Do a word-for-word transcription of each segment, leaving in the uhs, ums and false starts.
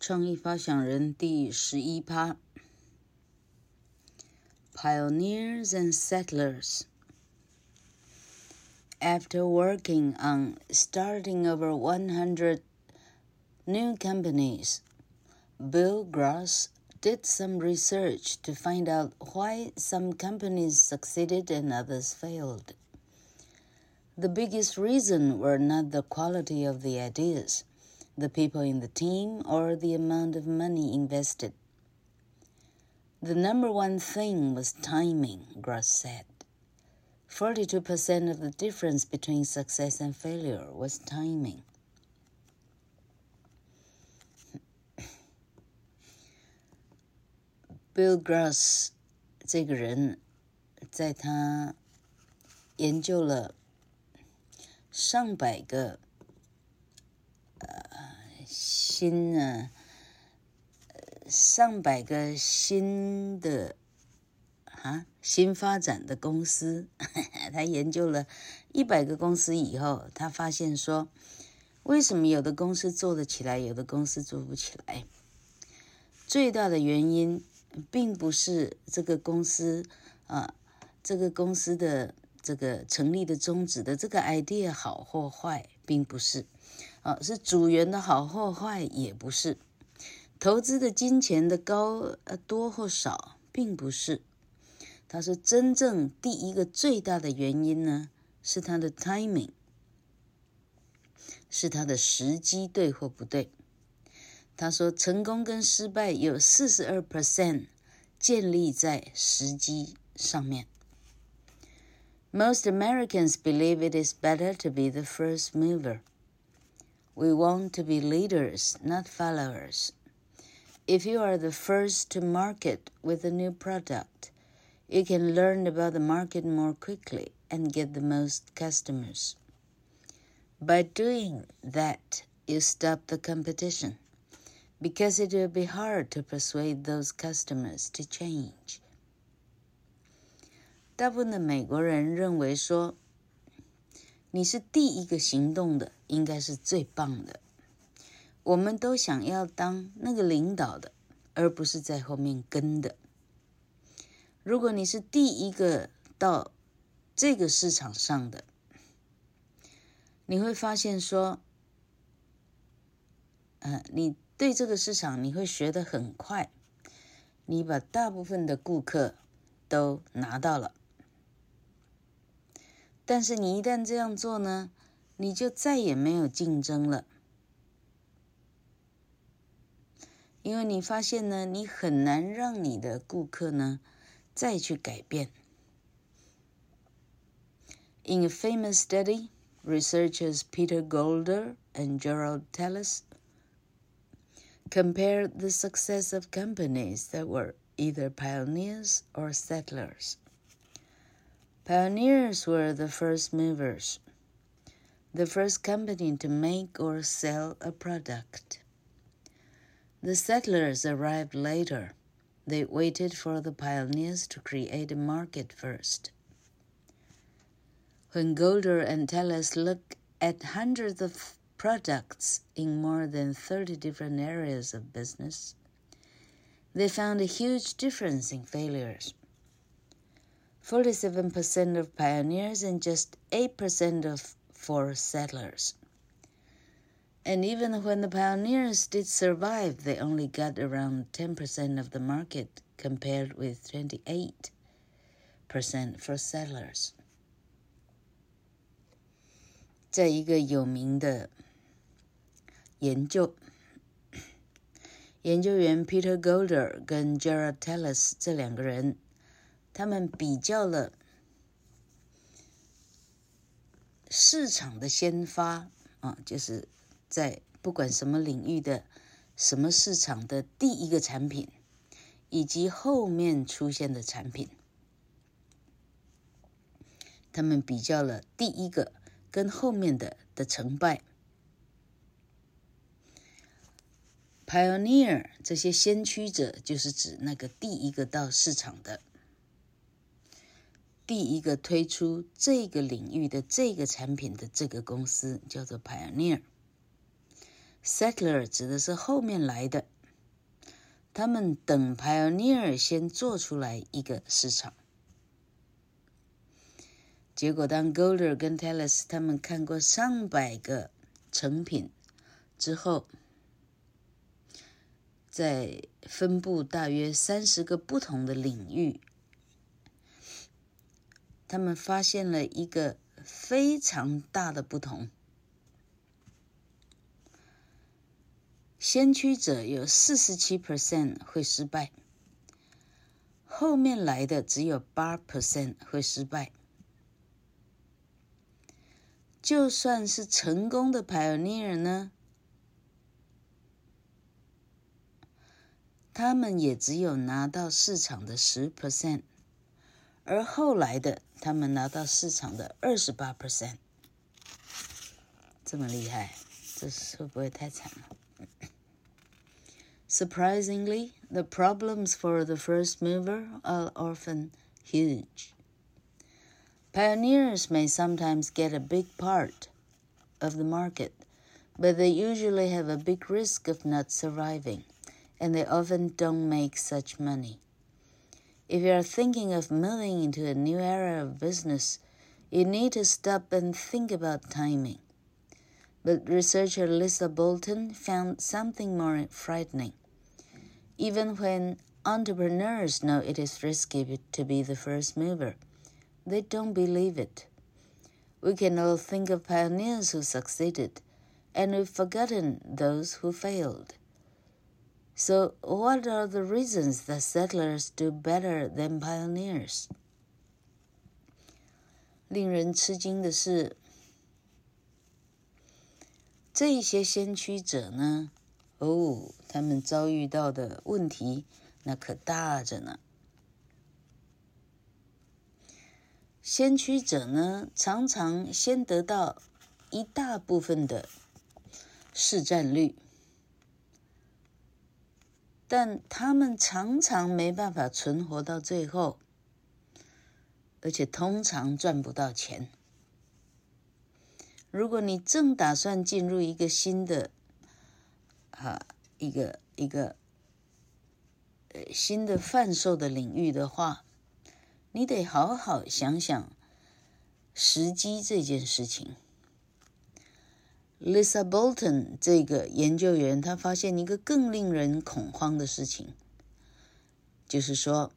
創意發想人第十一趴 Pioneers and Settlers. After working on starting over one hundred new companies, Bill Gross did some research to find out why some companies succeeded and others failed. The biggest reason were not the quality of the ideas, the people in the team, or the amount of money invested. The number one thing was timing, Gross said. forty-two percent of the difference between success and failure was timing. Bill Gross 這個人在他研究了上百個呃新呢上百個新的啊新發展的公司，他研究了一百個公司以後，他發現說，為什麼有的公司做得起來，有的公司做不起來？最大的原因並不是這個公司啊，這個公司的這個成立的宗旨的這個 idea 好或壞，並不是啊，是組員的好或壞，也不是投資的金錢的高呃多或少，並不是。他說真正第一個最大的原因呢，是他的 timing， 是他的時機對或不對。他說成功跟失敗有 百分之四十二 建立在時機上面。Most Americans believe it is better to be the first mover. We want to be leaders, not followers. If you are the first to market with a new product, you can learn about the market more quickly and get the most customers. By doing that, you stop the competition, because it will be hard to persuade those customers to change. 大部分的美國人認為說，你是第一個行動的，應該是最棒的。我們都想要當那個領導的，而不是在後面跟的。如果你是第一個到這個市場上的，你會發現說，呃，你對這個市場你會學得很快，你把大部分的顧客都拿到了。但是你一旦這樣做呢，你就再也沒有競爭了。因為你發現呢，你很難讓你的顧客呢再去改變。In a famous study, researchers Peter Golder and Gerald Tellis compared the success of companies that were either pioneers or settlers. Pioneers were the first movers, the first company to make or sell a product. The settlers arrived later. They waited for the pioneers to create a market first. When Golder and Tellis looked at hundreds of products in more than thirty different areas of business, they found a huge difference in failures. forty-seven percent of pioneers and just eight percent of for settlers. And even when the pioneers did survive, they only got around ten percent of the market compared with twenty-eight percent for settlers. 在一個有名的研究，研究員 Peter Golder 跟 Gerald Tellis 這兩個人，他們比較了市場的先發啊，就是在不管什麼領域的什麼市場的第一個產品，以及後面出現的產品，他們比較了第一個跟後面的的成敗。Pioneer 這些先驅者，就是指那個第一個到市場的，第一個推出這個領域的這個產品的這個公司叫做 Pioneer。Settler 指的是後面來的， 他們等 Pioneer 先做出來一個市場。結果當 Golder 跟 Teles 他們看過上百個成品之後，在分布大約三十個不同的領域，他們發現了一個非常大的不同。先驅者有 百分之四十七 會失敗，後面來的只有 百分之八 會失敗。就算是成功的 Pioneer 呢，他們也只有拿到市場的 百分之十，而後來的他們拿到市場的 百分之二十八。這麼厲害，這會不會太慘了？Surprisingly, the problems for the first mover are often huge. Pioneers may sometimes get a big part of the market, but they usually have a big risk of not surviving, and they often don't make such money. If you are thinking of moving into a new area of business, you need to stop and think about timing. But researcher Lisa Bolton found something more frightening. Even when entrepreneurs know it is risky to be the first mover, they don't believe it. We can all think of pioneers who succeeded, and we've forgotten those who failed. So what are the reasons that settlers do better than pioneers? 令人吃驚的是，這些先驅者呢，哦，他們遭遇到的問題那可大着呢。先驅者呢，常常先得到一大部分的市占率，但他們常常沒辦法存活到最後，而且通常賺不到錢。如果你正打算進入一個新的啊一個一個呃新的販售的領域的話，你得好好想想時機這件事情。Lisa Bolton 這個研究員，他發現一個更令人恐慌的事情，就是說，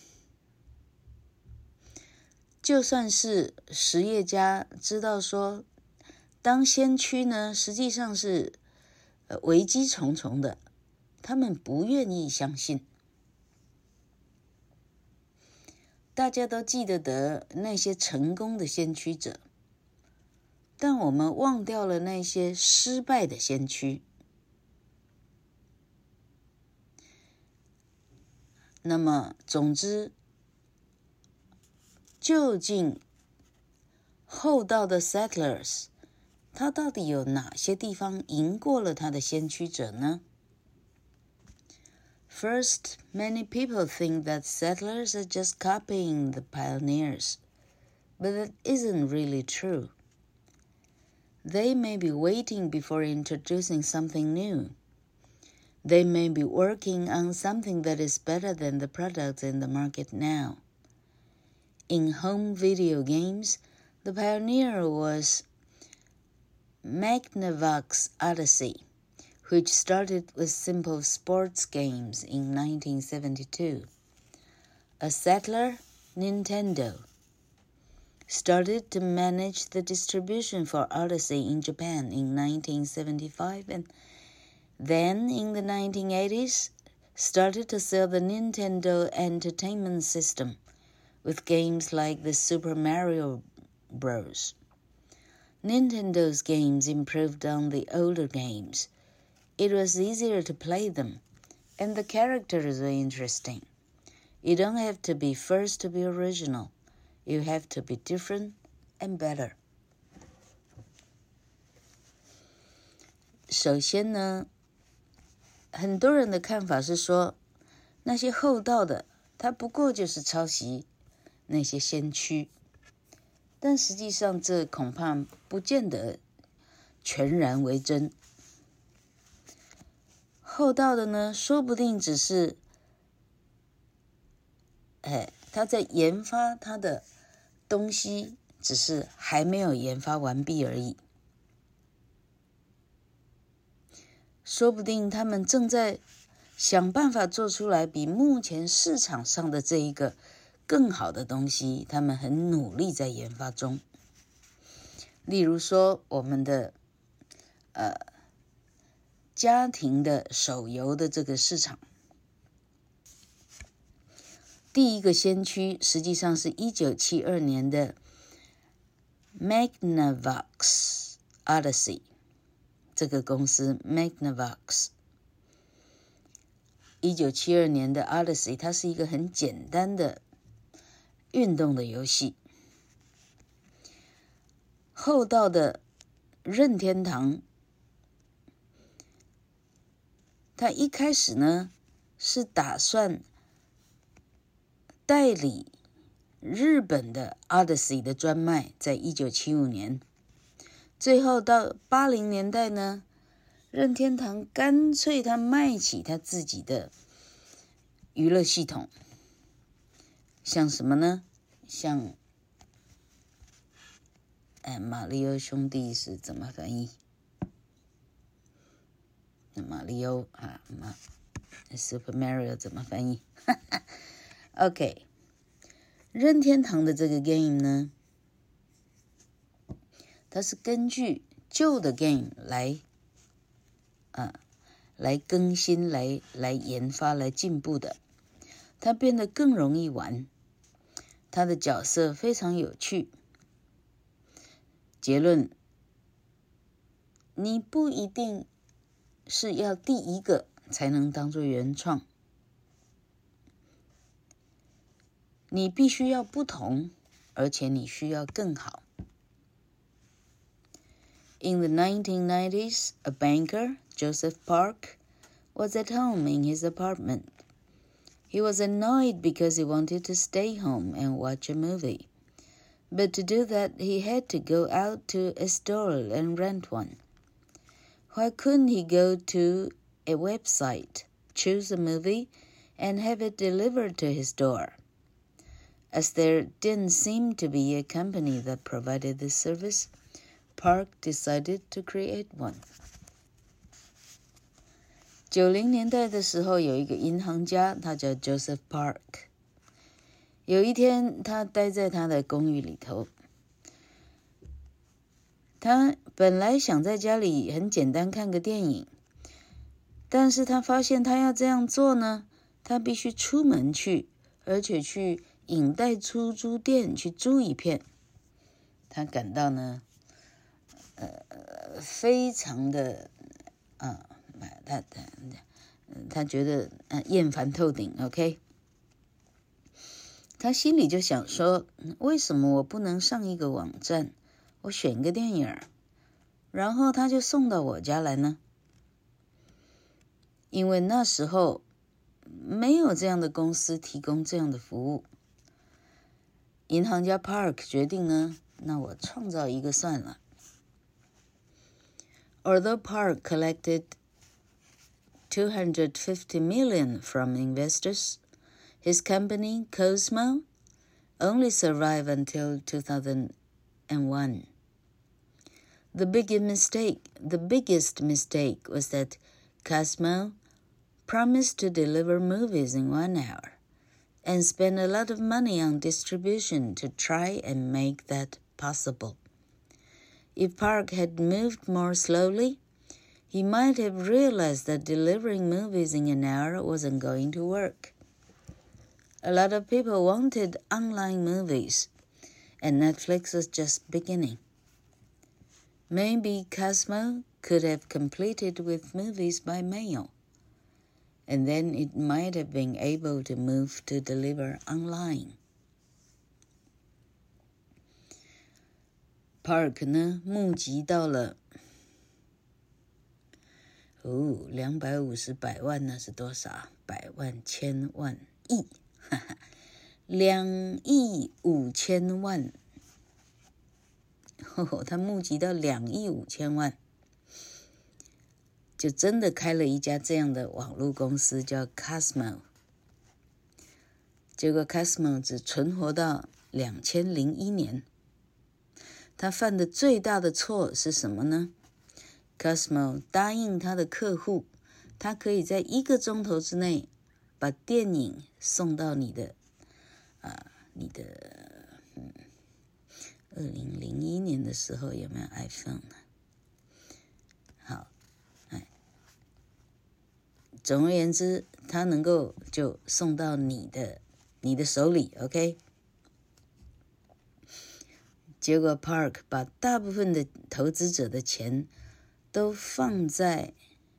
就算是實業家知道說，當先驅呢，實際上是呃危機重重的，他們不願意相信。大家都記得得那些成功的先驅者，但我們忘掉了那些失敗的先驅。那麼，總之，究竟後到的 settlers， 他到底有哪些地方贏過了他的先驅者呢？ First, many people think that settlers are just copying the pioneers, but that isn't really true. They may be waiting before introducing something new. They may be working on something that is better than the products in the market now. In home video games, the pioneer was Magnavox Odyssey, which started with simple sports games in nineteen seventy-two. A settler, Nintendo, started to manage the distribution for Odyssey in Japan in nineteen seventy-five, and then in the nineteen eighties, started to sell the Nintendo Entertainment System with games like the Super Mario Bros. Nintendo's games improved on the older games. It was easier to play them, and the characters were interesting. You don't have to be first to be original. You have to be different and better. 首先呢，很多人的看法是說，那些後到的，他不過就是抄襲那些先驅，但實際上這恐怕不見得全然為真。 厚道的呢，說不定只是，哎，他在研發他的東西，只是還沒有研發完畢而已。說不定他們正在想辦法做出來比目前市場上的這一個更好的東西，他們很努力在研發中。例如說，我們的呃家庭的手遊的這個市場，第一個先驅實際上是一九七二年的 Magnavox Odyssey。這個公司 Magnavox 一九七二年的 Odyssey， 它是一個很簡單的運動的遊戲。厚道的任天堂，他一開始呢是打算代理日本的 Odyssey 的專賣，在一九七五年。最後到八零年代呢，任天堂乾脆他賣起他自己的娛樂系統，像什麼呢？像，哎，馬里奧兄弟是怎麼翻譯？馬里奧啊，馬 Super Mario 怎麼翻譯？OK， 任天堂的這個 game 呢，它是根據舊的 game 來，啊，來更新、來來研發、來進步的。它變得更容易玩，它的角色非常有趣。結論：你不一定是要第一個才能當作原創，你必須要不同，而且你需要更好。In the nineteen nineties, a banker, Joseph Park, was at home in his apartment. He was annoyed because he wanted to stay home and watch a movie. But to do that, he had to go out to a store and rent one. Why couldn't he go to a website, choose a movie, and have it delivered to his door? As there didn't seem to be a company that provided this service, Park decided to create one. 九零年代的時候，有一個銀行家，他叫 Joseph Park。有一天，他待在他的公寓裡頭，他本來想在家裡很簡單看個電影，但是他發現他要這樣做呢，他必須出門去，而且去影帶出租店去租一片。他感到呢，呃，非常的啊，他他他覺得呃厭煩透頂 ，OK。他心裡就想說，為什麼我不能上一個網站，我選個電影，然後他就送到我家來呢？因為那時候沒有這樣的公司提供這樣的服務。銀行家 Park 決定呢，那我創造一個算了。Although Park collected two hundred fifty million from investors, his company, Cosmo, only survived until two thousand one. The biggest mistake, the biggest mistake was that Cosmo promised to deliver movies in one hour and spent a lot of money on distribution to try and make that possible. If Park had moved more slowly, he might have realized that delivering movies in an hour wasn't going to work.A lot of people wanted online movies, and Netflix was just beginning. Maybe Cosmo could have completed with movies by mail, and then it might have been able to move to deliver online. Park 呢，募集到了哦，兩百五十百萬，那是多少？百萬、千萬、億。兩億五千萬，哦，他募集到兩億五千萬。 就真的開了一家這樣的網絡公司，叫 Cosmo。結果 Cosmo 只存活到兩千零一年。他犯的最大的錯是什麼呢？ Cosmo 答應他的客戶，他可以在一個鐘頭之內把電影送到你的啊，你的嗯，二零零一年的時候有沒有 iPhone 呢？好，哎，總而言之，他能夠就送到你的你的手裡 ，OK。結果 Park 把大部分的投資者的錢都放在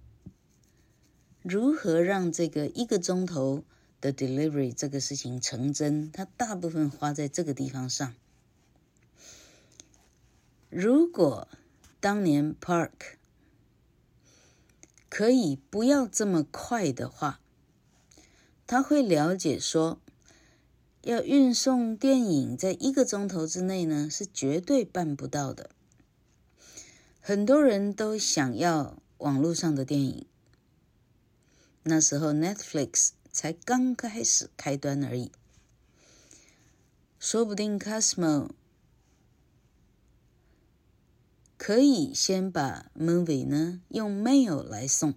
如何讓這個一個鐘頭的 delivery 這個事情成真，他大部分花在這個地方上。如果當年 Park 可以不要這麼快的話，他會了解說，要運送電影在一個鐘頭之內呢，是絕對辦不到的。很多人都想要網絡上的電影，那時候 Netflix 才剛開始開端而已。說不定 Cosmo 可以先把 movie 呢用 mail 來送，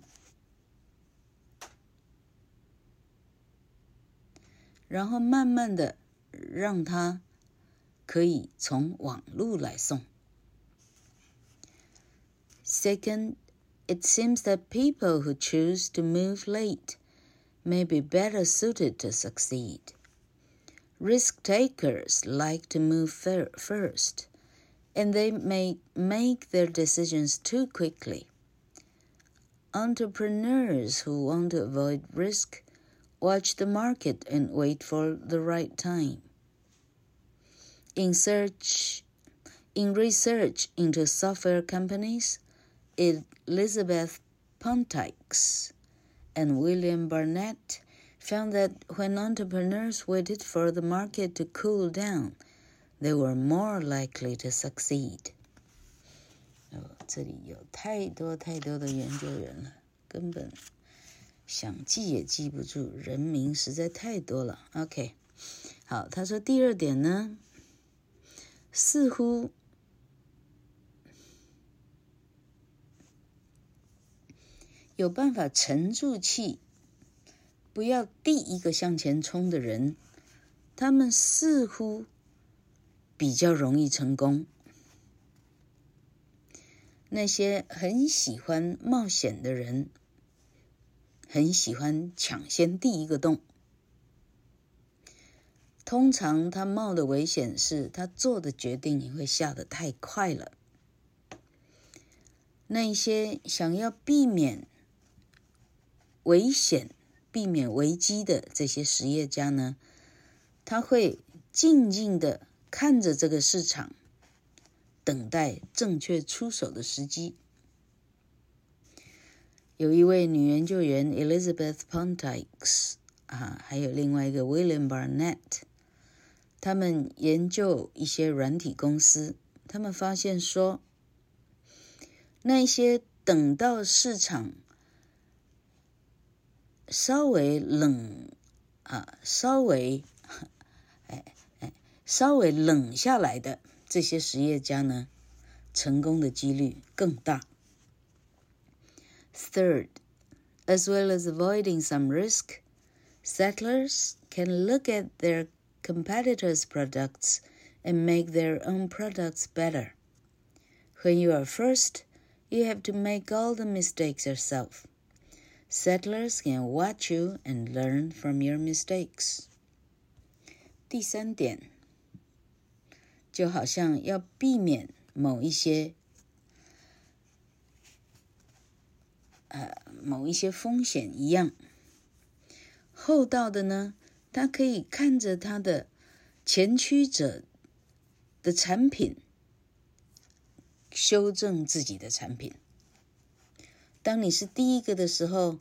然後慢慢的讓它可以從網路來送。Second, it seems that people who choose to move late may be better suited to succeed. Risk takers like to move first, and they may make their decisions too quickly. Entrepreneurs who want to avoid risk watch the market and wait for the right time. In search, in research into software companies, Elizabeth Ponticks and William Barnett found that when entrepreneurs waited for the market to cool down, they were more likely to succeed. 哦，這裡有太多太多的研究員了，根本想記也記不住，人名實在太多了。OK， 好，他說第二點呢，似乎有辦法沉住氣，不要第一個向前衝的人，他們似乎比較容易成功。那些很喜歡冒險的人，很喜歡搶先第一個洞。通常他冒的危險是他做的決定也會下得太快了。那些想要避免危險、避免危機的這些實業家呢，他會靜靜地看着這個市場，等待正確出手的時機。有一位女研究員 Elizabeth Ponticks 啊，還有另外一個 William Barnett， 他們研究一些軟體公司，他們發現說，那些等到市場稍微冷啊，稍微哎哎稍微冷下來的這些實業家呢，成功的幾率更大。Third, as well as avoiding some risk, settlers can look at their competitors' products and make their own products better. When you are first, you have to make all the mistakes yourself.Settlers can watch you and learn from your mistakes. 第三點，就好像要避免某一些呃某一些風險一樣，後到的呢，他可以看着他的前驅者的產品，修正自己的產品。當你是第一個的時候，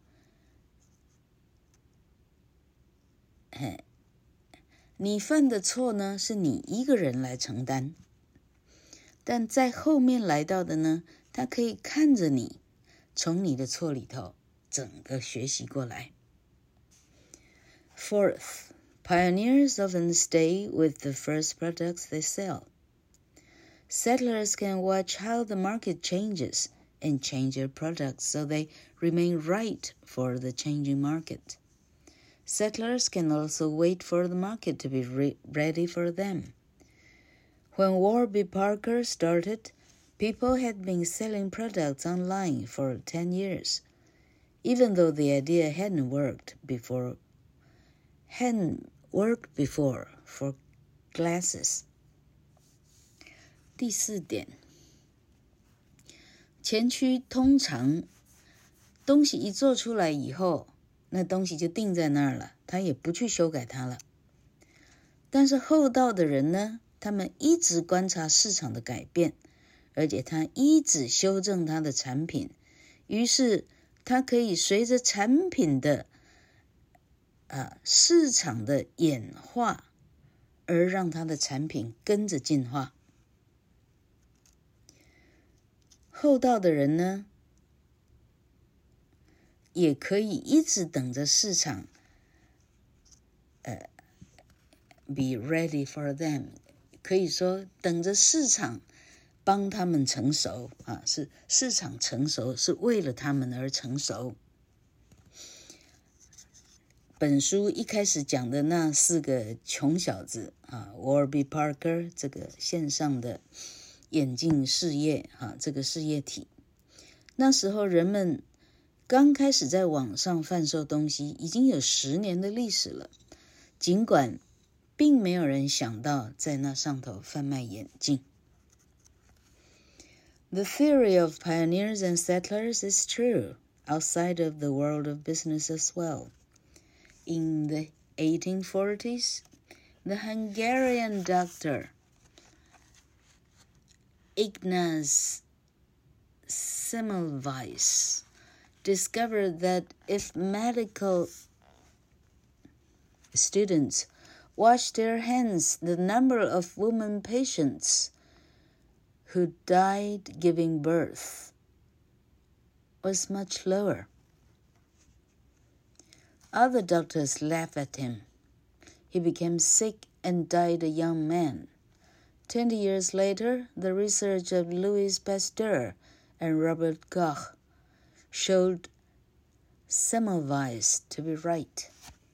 你犯的錯呢，是你一個人來承擔。但在後面來到的呢，他可以看着你從你的錯裡頭整個學習過來。Fourth, pioneers often stay with the first products they sell. Settlers can watch how the market changes and change their products so they remain right for the changing market. Settlers can also wait for the market to be re- ready for them. When Warby Parker started, people had been selling products online for ten years, even though the idea hadn't worked before, hadn't worked before for glasses. 第四點，前驅通常東西一做出來以後，那東西就定在那兒了，他也不去修改它了。但是後道的人呢，他們一直觀察市場的改變，而且他一直修正他的產品，於是他可以隨着產品的、呃、市場的演化，而讓他的產品跟着進化。後道的人呢，也可以一直等着市場，呃 be ready for them， 可以說等着市場幫他們成熟啊，是市場成熟，是為了他們而成熟。本書一開始講的那四個窮小子啊 ，Warby Parker 這個線上的眼鏡事業啊，這個事業體，那時候人們剛開始在網上販售東西，已經有十年的歷史了，儘管並沒有人想到在那上頭販賣眼鏡。The theory of pioneers and settlers is true outside of the world of business as well. In the eighteen forties, the Hungarian doctor Ignaz Semmelweis discovered that if medical students washed their hands, the number of women patients who died giving birth was much lower. Other doctors laughed at him. He became sick and died a young man. Twenty years later, the research of Louis Pasteur and Robert Koch showed Semmelweis to be right.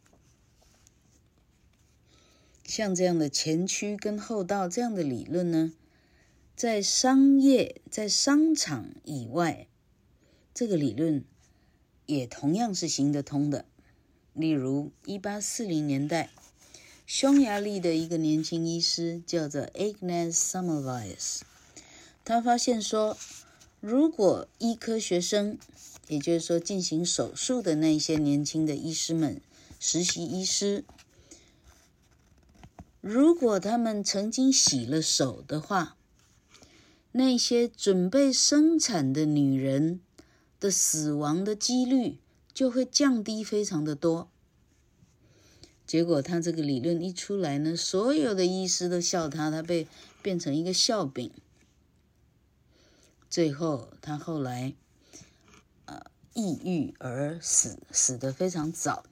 像這樣的前驅跟後道這樣的理論呢，在商業、在商場以外，這個理論也同樣是行得通的。例如一八四零年代，匈牙利的一個年輕醫師叫做 Ignaz Semmelweis， 他發現說，如果醫科學生，也就是說進行手術的那些年輕的醫師們，實習醫師，如果他們曾經洗了手的話，那些準備生產的女人的死亡的幾率就會降低非常的多。結果他這個理論一出來呢，所有的醫師都笑他，他被變成一個笑柄。最後他後來呃抑鬱而死，死得非常早。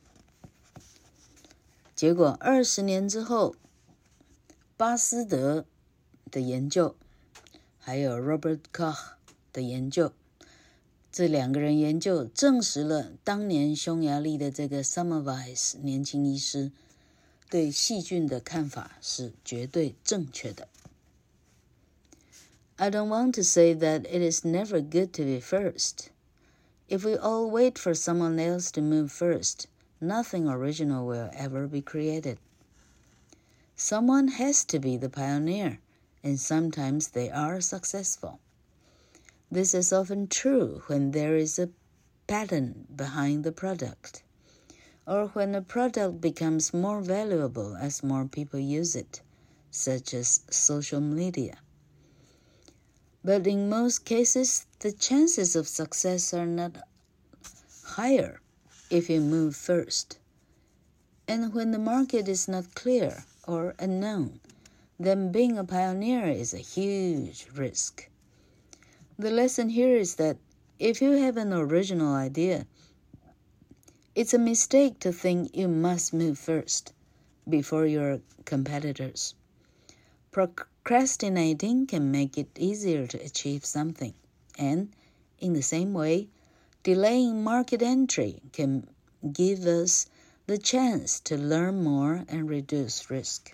結果二十年之後，巴斯德的研究還有 Robert Koch 的研究，這兩個人研究證實了當年匈牙利的這個 Semmelweis 年輕醫師對細菌的看法是絕對正確的。I don't want to say that it is never good to be first. If we all wait for someone else to move first, nothing original will ever be created. Someone has to be the pioneer, and sometimes they are successful. This is often true when there is a pattern behind the product, or when a product becomes more valuable as more people use it, such as social media. But in most cases, the chances of success are not higher if you move first. And when the market is not clear or unknown, then being a pioneer is a huge risk. The lesson here is that If you have an original idea, it's a mistake to think you must move first before your competitors. Procrastinating can make it easier to achieve something, and in the same way, delaying market entry can give us the chance to learn more and reduce risk.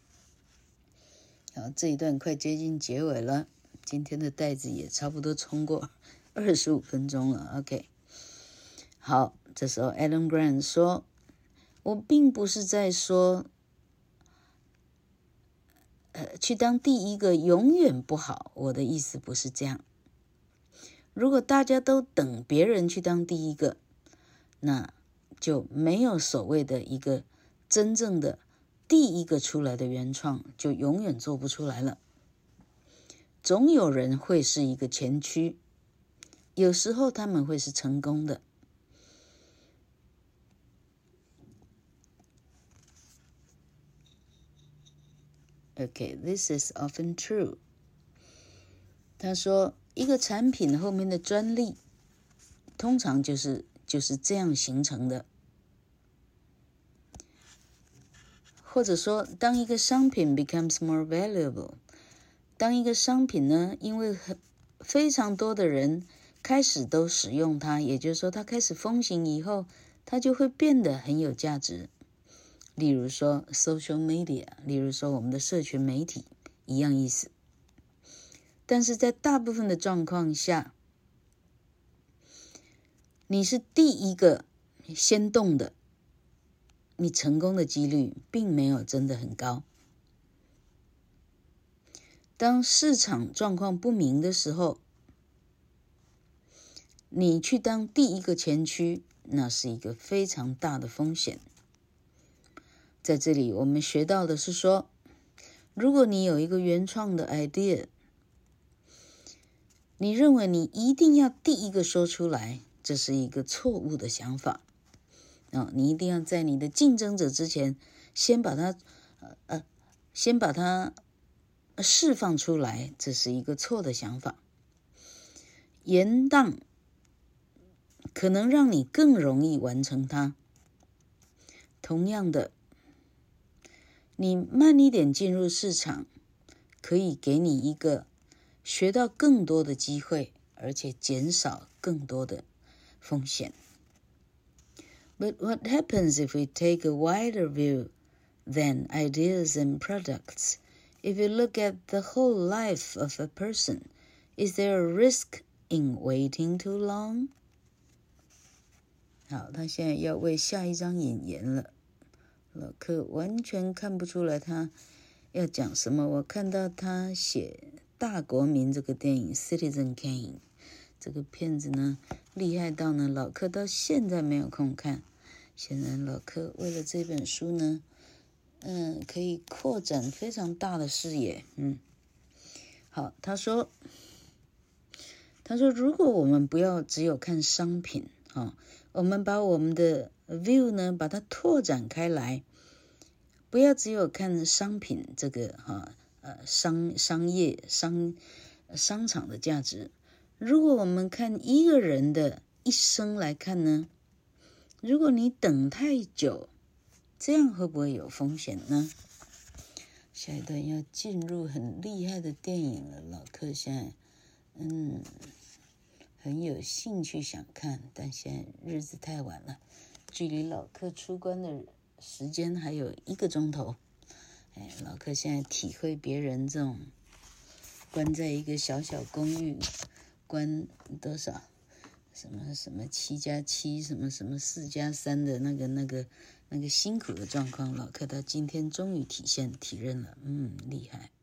好，這一段快接近結尾了，今天的帶子也差不多衝過二十五分鐘了。OK， 好，這時候 Adam Grant 說，我並不是在說，呃，去當第一個永遠不好，我的意思不是這樣。如果大家都等別人去當第一個，那就沒有所謂的一個真正的第一個出來的原創，就永遠做不出來了。總有人會是一個前驅，有時候他們會是成功的。Okay, this is often true. 他說，一個產品後面的專利，通常就是就是這樣形成的。或者說，當一個商品 becomes more valuable， 當一個商品呢，因為很非常多的人開始都使用它，也就是說，它開始風行以後，它就會變得很有價值。例如說 social media， 例如說我們的社群媒體，一樣意思。但是在大部分的狀況下，你是第一個先動的，你成功的幾率並沒有真的很高。當市場狀況不明的時候，你去當第一個前驅，那是一個非常大的風險。在這裡我們學到的是說，如果你有一個原創的 idea， 你認為你一定要第一個說出來，這是一個錯誤的想法。哦，你一定要在你的競爭者之前，先把它，呃呃，先把它釋放出來，這是一個錯的想法。延宕可能讓你更容易完成它。同樣的，你慢一點進入市場，可以給你一個學到更多的機會，而且減少更多的風險。But what happens if we take a wider view than ideas and products? If you look at the whole life of a person, is there a risk in waiting too long? 好，他現在要為下一章引言了。老柯完全看不出來他要講什麼。我看到他寫《大國民》這個電影 Citizen Kane， 這個片子呢厲害到呢老柯到現在沒有空看。顯然老柯為了這本書呢，嗯，可以擴展非常大的視野。嗯，好，他說，他說如果我們不要只有看商品，哦，我們把我們的 view 呢把它拓展開來，不要只有看商品這個哈呃商商業商商場的價值。如果我們看一個人的一生來看呢，如果你等太久，這樣會不會有風險呢？下一段要進入很厲害的電影了，老柯現在嗯很有興趣想看，但現在日子太晚了，距離老柯出關的時間還有一個鐘頭。哎，老柯現在體會別人這種關在一個小小公寓，關多少？什麼什麼七加七，什麼什麼四加三的那個那個那個辛苦的狀況，老柯到今天終於體現體認了，嗯，厲害。